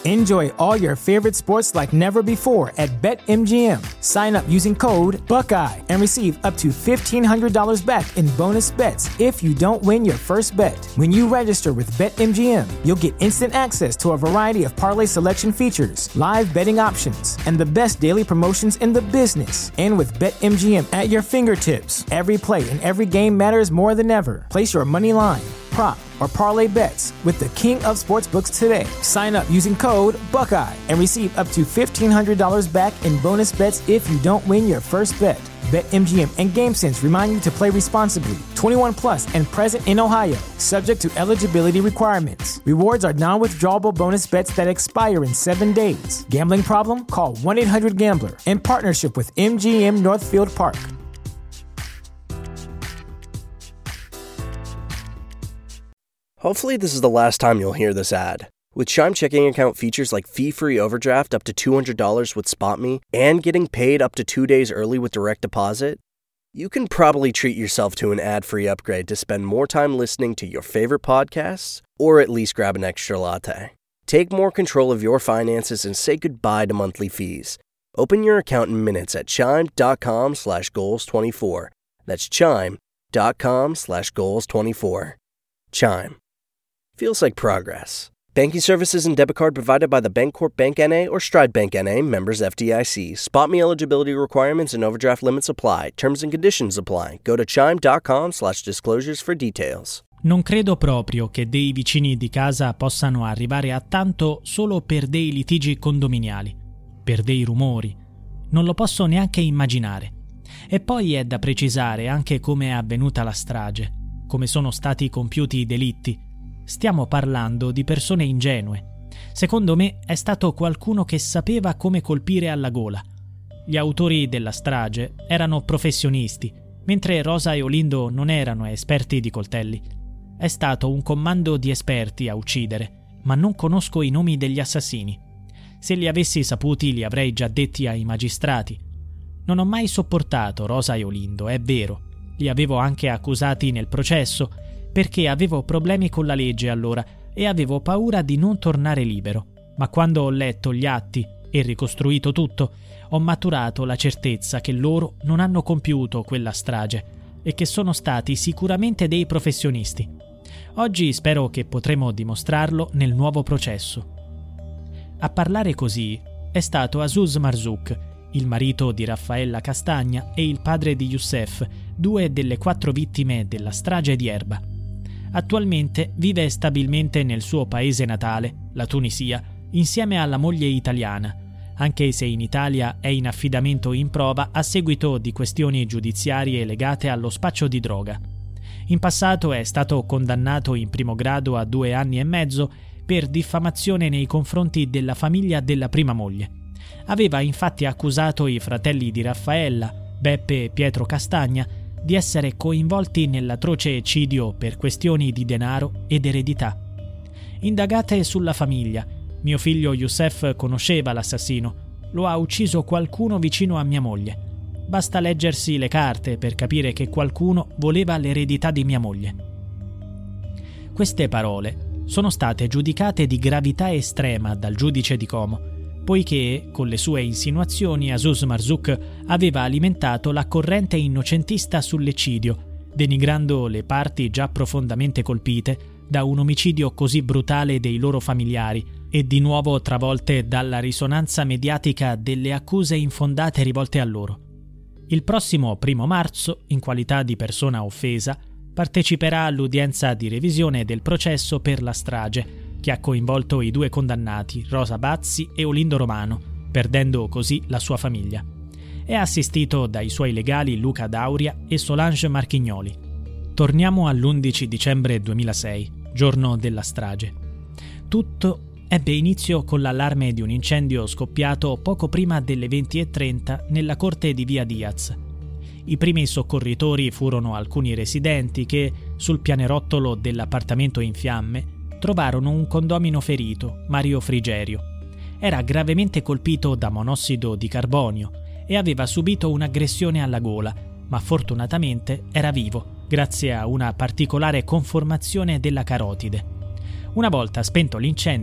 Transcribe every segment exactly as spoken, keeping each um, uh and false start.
Enjoy all your favorite sports like never before at BetMGM. Sign up using code Buckeye and receive up to fifteen hundred dollars back in bonus bets if you don't win your first bet. When you register with BetMGM, you'll get instant access to a variety of parlay selection features, live betting options, and the best daily promotions in the business. And with BetMGM at your fingertips, every play and every game matters more than ever. Place your money line, prop, or parlay bets with the king of sportsbooks today. Sign up using code Buckeye and receive up to fifteen hundred dollars back in bonus bets if you don't win your first bet. BetMGM and GameSense remind you to play responsibly. twenty-one plus and present in Ohio, subject to eligibility requirements. Rewards are non-withdrawable bonus bets that expire in seven days. Gambling problem? Call one eight hundred gambler. In partnership with M G M Northfield Park. Hopefully this is the last time you'll hear this ad. With Chime checking account features like fee-free overdraft up to two hundred dollars with SpotMe and getting paid up to two days early with direct deposit, you can probably treat yourself to an ad-free upgrade to spend more time listening to your favorite podcasts or at least grab an extra latte. Take more control of your finances and say goodbye to monthly fees. Open your account in minutes at chime.com slash goals24. That's chime.com slash goals24. Chime. Feels like progress. Banking services and debit card provided by the Bancorp Bank N A or Stride Bank N A, members F D I C. SpotMe eligibility requirements and overdraft limits apply. Terms and conditions apply. Go to chime.com slash disclosures for details. Non credo proprio che dei vicini di casa possano arrivare a tanto solo per dei litigi condominiali, per dei rumori. Non lo posso neanche immaginare. E poi è da precisare anche come è avvenuta la strage, come sono stati compiuti i delitti. Stiamo parlando di persone ingenue. Secondo me è stato qualcuno che sapeva come colpire alla gola. Gli autori della strage erano professionisti, mentre Rosa e Olindo non erano esperti di coltelli. È stato un comando di esperti a uccidere, ma non conosco i nomi degli assassini. Se li avessi saputi li avrei già detti ai magistrati. Non ho mai sopportato Rosa e Olindo, è vero. Li avevo anche accusati nel processo, perché avevo problemi con la legge allora e avevo paura di non tornare libero. Ma quando ho letto gli atti e ricostruito tutto, ho maturato la certezza che loro non hanno compiuto quella strage e che sono stati sicuramente dei professionisti. Oggi spero che potremo dimostrarlo nel nuovo processo. A parlare così è stato Azuz Marzouk, il marito di Raffaella Castagna e il padre di Youssef, due delle quattro vittime della strage di Erba. Attualmente vive stabilmente nel suo paese natale, la Tunisia, insieme alla moglie italiana, anche se in Italia è in affidamento in prova a seguito di questioni giudiziarie legate allo spaccio di droga. In passato è stato condannato in primo grado a due anni e mezzo per diffamazione nei confronti della famiglia della prima moglie. Aveva infatti accusato i fratelli di Raffaella, Beppe e Pietro Castagna, di essere coinvolti nell'atroce eccidio per questioni di denaro ed eredità. Indagate sulla famiglia. Mio figlio Youssef conosceva l'assassino. Lo ha ucciso qualcuno vicino a mia moglie. Basta leggersi le carte per capire che qualcuno voleva l'eredità di mia moglie. Queste parole sono state giudicate di gravità estrema dal giudice di Como, poiché, con le sue insinuazioni, Azuz Marzouk aveva alimentato la corrente innocentista sull'eccidio, denigrando le parti già profondamente colpite da un omicidio così brutale dei loro familiari e di nuovo travolte dalla risonanza mediatica delle accuse infondate rivolte a loro. Il prossimo primo marzo, in qualità di persona offesa, parteciperà all'udienza di revisione del processo per la strage, che ha coinvolto i due condannati, Rosa Bazzi e Olindo Romano, perdendo così la sua famiglia. È assistito dai suoi legali Luca Dauria e Solange Marchignoli. Torniamo all'undici dicembre duemilasei, giorno della strage. Tutto ebbe inizio con l'allarme di un incendio scoppiato poco prima delle venti e trenta nella corte di Via Diaz. I primi soccorritori furono alcuni residenti che, sul pianerottolo dell'appartamento in fiamme, trovarono un condomino ferito, Mario Frigerio. Era gravemente colpito da monossido di carbonio e aveva subito un'aggressione alla gola, ma fortunatamente era vivo, grazie a una particolare conformazione della carotide. Una volta spento l'incendio,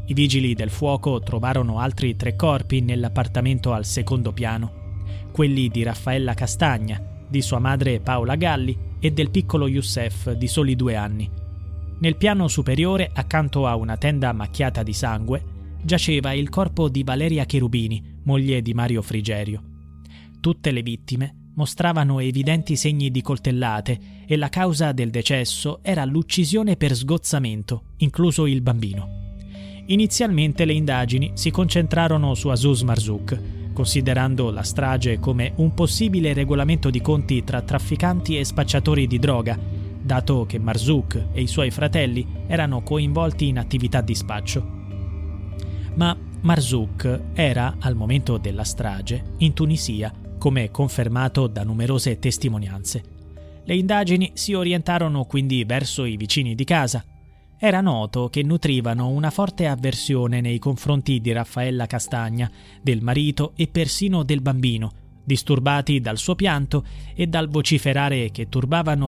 I vigili del fuoco trovarono altri tre corpi nell'appartamento al secondo piano, quelli di Raffaella Castagna, di sua madre Paola Galli e del piccolo Youssef di soli due anni. Nel piano superiore, accanto a una tenda macchiata di sangue, giaceva il corpo di Valeria Cherubini, moglie di Mario Frigerio. Tutte le vittime mostravano evidenti segni di coltellate e la causa del decesso era l'uccisione per sgozzamento, incluso il bambino. Inizialmente le indagini si concentrarono su Azuz Marzouk, considerando la strage come un possibile regolamento di conti tra trafficanti e spacciatori di droga, dato che Marzouk e i suoi fratelli erano coinvolti in attività di spaccio. Ma Marzouk era, al momento della strage, in Tunisia, come confermato da numerose testimonianze. Le indagini si orientarono quindi verso i vicini di casa. Era noto che nutrivano una forte avversione nei confronti di Raffaella Castagna, del marito e persino del bambino, disturbati dal suo pianto e dal vociferare che turbavano.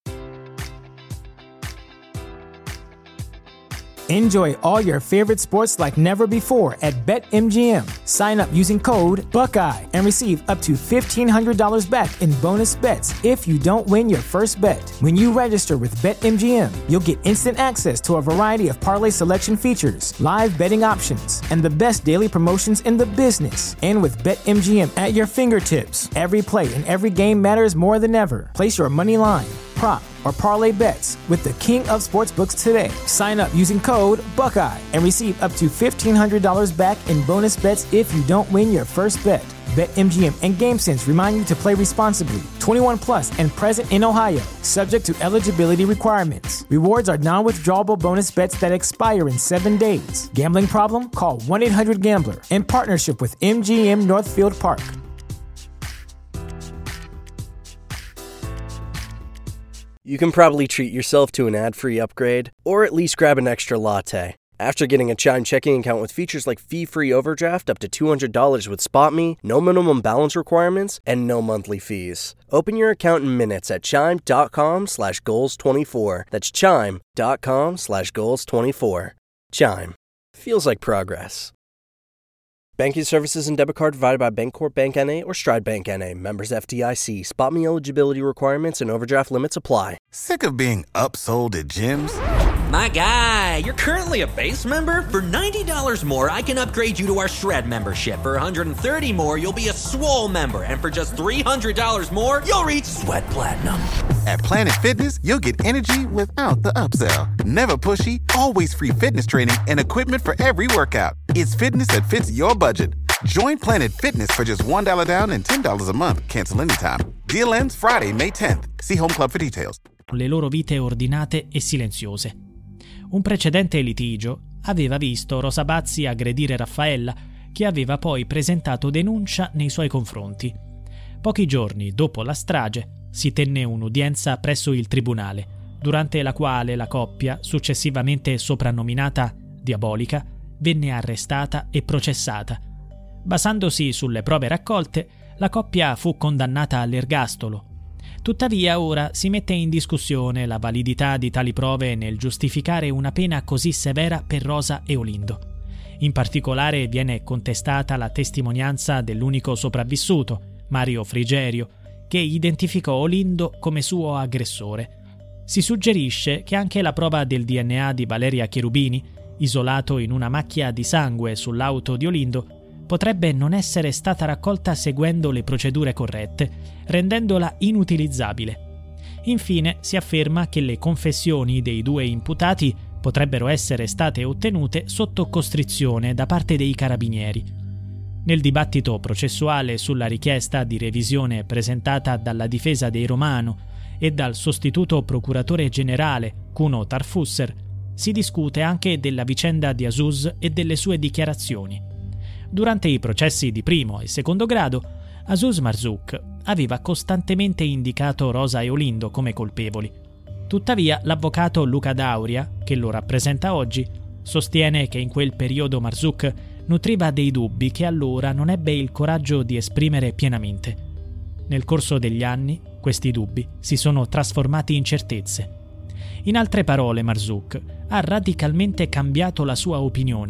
Enjoy all your favorite sports like never before at BetMGM. Sign up using code Buckeye and receive up to fifteen hundred dollars back in bonus bets if you don't win your first bet. When you register with BetMGM, you'll get instant access to a variety of parlay selection features, live betting options, and the best daily promotions in the business. And with BetMGM at your fingertips, every play and every game matters more than ever. Place your money line, prop, or parlay bets with the king of sportsbooks today. Sign up using code Buckeye and receive up to fifteen hundred dollars back in bonus bets if you don't win your first bet. BetMGM and GameSense remind you to play responsibly. twenty-one plus and present in Ohio, subject to eligibility requirements. Rewards are non-withdrawable bonus bets that expire in seven days. Gambling problem? Call one eight hundred gambler. In partnership with M G M Northfield Park. You can probably treat yourself to an ad-free upgrade, or at least grab an extra latte. After getting a Chime checking account with features like fee-free overdraft up to two hundred dollars with SpotMe, no minimum balance requirements, and no monthly fees. Open your account in minutes at chime.com slash goals 24. That's chime.com slash goals 24. Chime. Feels like progress. Banking services and debit card provided by Bancorp Bank N A or Stride Bank N A. Members F D I C. SpotMe eligibility requirements and overdraft limits apply. Sick of being upsold at gyms? My guy, you're currently a base member? For ninety dollars more, I can upgrade you to our Shred membership. For one hundred thirty dollars more, you'll be a Swole member. And for just three hundred dollars more, you'll reach Sweat Platinum. At Planet Fitness, you'll get energy without the upsell. Never pushy, always free fitness training and equipment for every workout. It's fitness that fits your budget. Join Planet Fitness for just one dollar down and ten dollars a month. Cancel anytime. Deal ends Friday, May tenth. See Home Club for details. Le loro vite ordinate e silenziose. Un precedente litigio aveva visto Rosa Bazzi aggredire Raffaella, che aveva poi presentato denuncia nei suoi confronti. Pochi giorni dopo la strage si tenne un'udienza presso il tribunale, durante la quale la coppia, successivamente soprannominata Diabolica, venne arrestata e processata. Basandosi sulle prove raccolte, la coppia fu condannata all'ergastolo. Tuttavia ora si mette in discussione la validità di tali prove nel giustificare una pena così severa per Rosa e Olindo. In particolare viene contestata la testimonianza dell'unico sopravvissuto, Mario Frigerio, che identificò Olindo come suo aggressore. Si suggerisce che anche la prova del D N A di Valeria Cherubini, isolato in una macchia di sangue sull'auto di Olindo, potrebbe non essere stata raccolta seguendo le procedure corrette, rendendola inutilizzabile. Infine si afferma che le confessioni dei due imputati potrebbero essere state ottenute sotto costrizione da parte dei carabinieri. Nel dibattito processuale sulla richiesta di revisione presentata dalla difesa dei Romano e dal sostituto procuratore generale Kuno Tarfusser, si discute anche della vicenda di Azuz e delle sue dichiarazioni. Durante i processi di primo e secondo grado, Azuz Marzouk aveva costantemente indicato Rosa e Olindo come colpevoli. Tuttavia, l'avvocato Luca Dauria, che lo rappresenta oggi, sostiene che in quel periodo Marzouk nutriva dei dubbi che allora non ebbe il coraggio di esprimere pienamente. Nel corso degli anni, questi dubbi si sono trasformati in certezze. In altre parole, Marzouk ha radicalmente cambiato la sua opinione.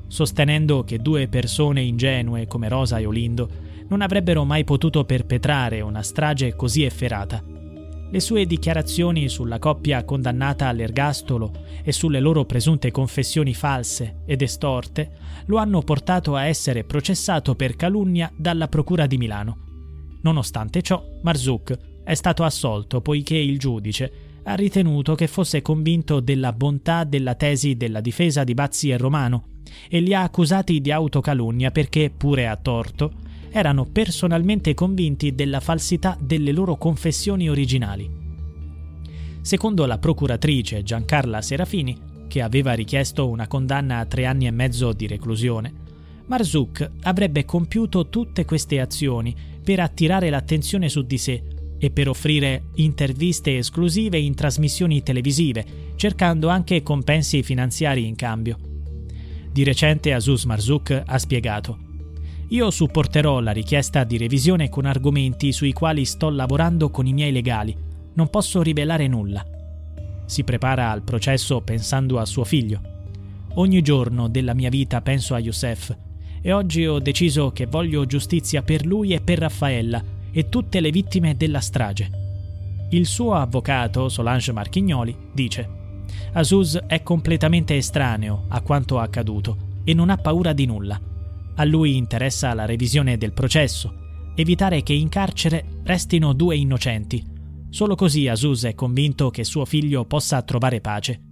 sostenendo che due persone ingenue come Rosa e Olindo non avrebbero mai potuto perpetrare una strage così efferata. Le sue dichiarazioni sulla coppia condannata all'ergastolo e sulle loro presunte confessioni false ed estorte lo hanno portato a essere processato per calunnia dalla Procura di Milano. Nonostante ciò, Marzouk è stato assolto poiché il giudice ha ritenuto che fosse convinto della bontà della tesi della difesa di Bazzi e Romano e li ha accusati di autocalunnia perché, pure a torto, erano personalmente convinti della falsità delle loro confessioni originali. Secondo la procuratrice Giancarla Serafini, che aveva richiesto una condanna a tre anni e mezzo di reclusione, Marzouk avrebbe compiuto tutte queste azioni per attirare l'attenzione su di sé e per offrire interviste esclusive in trasmissioni televisive, cercando anche compensi finanziari in cambio. Di recente Azouz Marzouk ha spiegato: «Io supporterò la richiesta di revisione con argomenti sui quali sto lavorando con i miei legali. Non posso rivelare nulla». Si prepara al processo pensando a suo figlio. «Ogni giorno della mia vita penso a Youssef e oggi ho deciso che voglio giustizia per lui e per Raffaella e tutte le vittime della strage». Il suo avvocato, Solange Marchignoli, dice: «Azouz è completamente estraneo a quanto accaduto e non ha paura di nulla. A lui interessa la revisione del processo, evitare che in carcere restino due innocenti. Solo così Azouz è convinto che suo figlio possa trovare pace».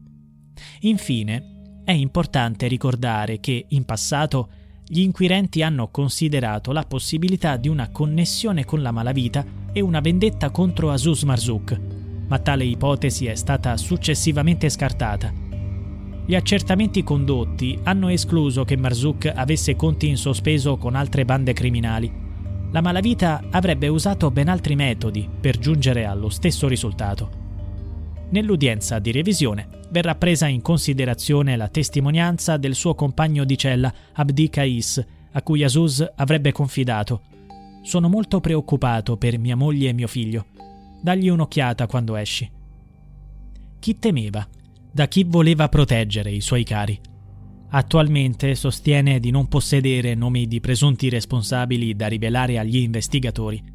Infine, è importante ricordare che, in passato, gli inquirenti hanno considerato la possibilità di una connessione con la malavita e una vendetta contro Azouz Marzouk, ma tale ipotesi è stata successivamente scartata. Gli accertamenti condotti hanno escluso che Marzouk avesse conti in sospeso con altre bande criminali. La malavita avrebbe usato ben altri metodi per giungere allo stesso risultato. Nell'udienza di revisione verrà presa in considerazione la testimonianza del suo compagno di cella Abdi Kais, a cui Azouz avrebbe confidato: «Sono molto preoccupato per mia moglie e mio figlio. Dagli un'occhiata quando esci». Chi temeva? Da chi voleva proteggere i suoi cari? Attualmente sostiene di non possedere nomi di presunti responsabili da rivelare agli investigatori.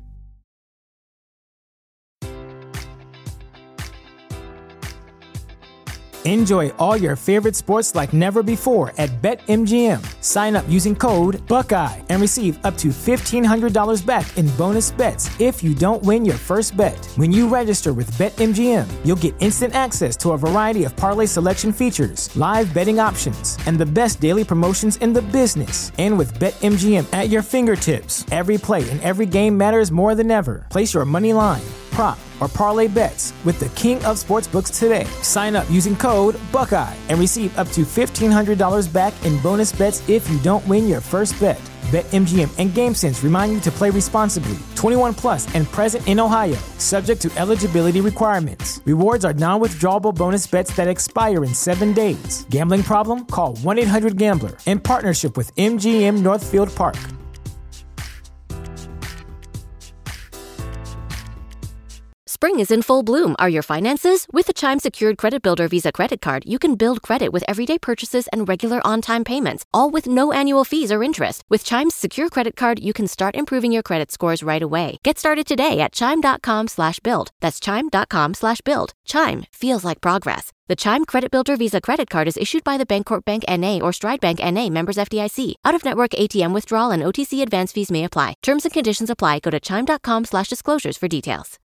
Enjoy all your favorite sports like never before at BetMGM. Sign up using code Buckeye and receive up to fifteen hundred dollars back in bonus bets if you don't win your first bet. When you register with BetMGM, you'll get instant access to a variety of parlay selection features, live betting options, and the best daily promotions in the business. And with BetMGM at your fingertips, every play and every game matters more than ever. Place your money line, prop, or parlay bets with the king of sportsbooks today. Sign up using code Buckeye and receive up to fifteen hundred dollars back in bonus bets if you don't win your first bet. BetMGM and GameSense remind you to play responsibly. twenty-one plus and present in Ohio, subject to eligibility requirements. Rewards are non-withdrawable bonus bets that expire in seven days. Gambling problem? Call one eight hundred gambler. In partnership with M G M Northfield Park. Spring is in full bloom. Are your finances? With the Chime Secured Credit Builder Visa Credit Card, you can build credit with everyday purchases and regular on-time payments, all with no annual fees or interest. With Chime's Secure Credit Card, you can start improving your credit scores right away. Get started today at chime.com slash build. That's chime.com slash build. Chime feels like progress. The Chime Credit Builder Visa Credit Card is issued by the Bancorp Bank N A or Stride Bank N A, members F D I C. Out-of-network A T M withdrawal and O T C advance fees may apply. Terms and conditions apply. Go to chime.com slash disclosures for details.